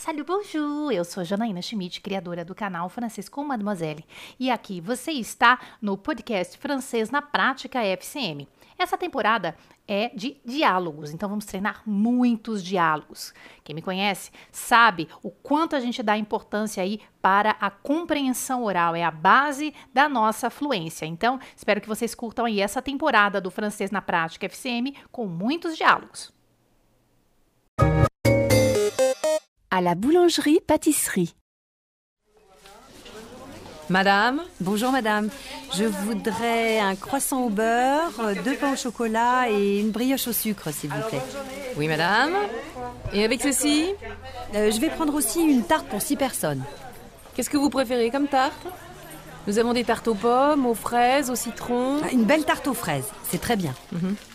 Salut, bonjour! Eu sou Janaína Schmidt, criadora do canal Francês com Mademoiselle. E aqui você está no podcast Francês na Prática FCM. Essa temporada é de diálogos, então vamos treinar muitos diálogos. Quem me conhece sabe o quanto a gente dá importância aí para a compreensão oral, é a base da nossa fluência. Então, espero que vocês curtam aí essa temporada do Francês na Prática FCM com muitos diálogos. À la boulangerie-pâtisserie. Madame? Bonjour madame, je voudrais un croissant au beurre, 2 pains au chocolat et une brioche au sucre s'il vous plaît. Oui madame. Et avec ceci? Je vais prendre aussi une tarte pour 6 personnes. Qu'est-ce que vous préférez comme tarte? Nous avons des tartes aux pommes, aux fraises, au citron. Une belle tarte aux fraises, c'est très bien.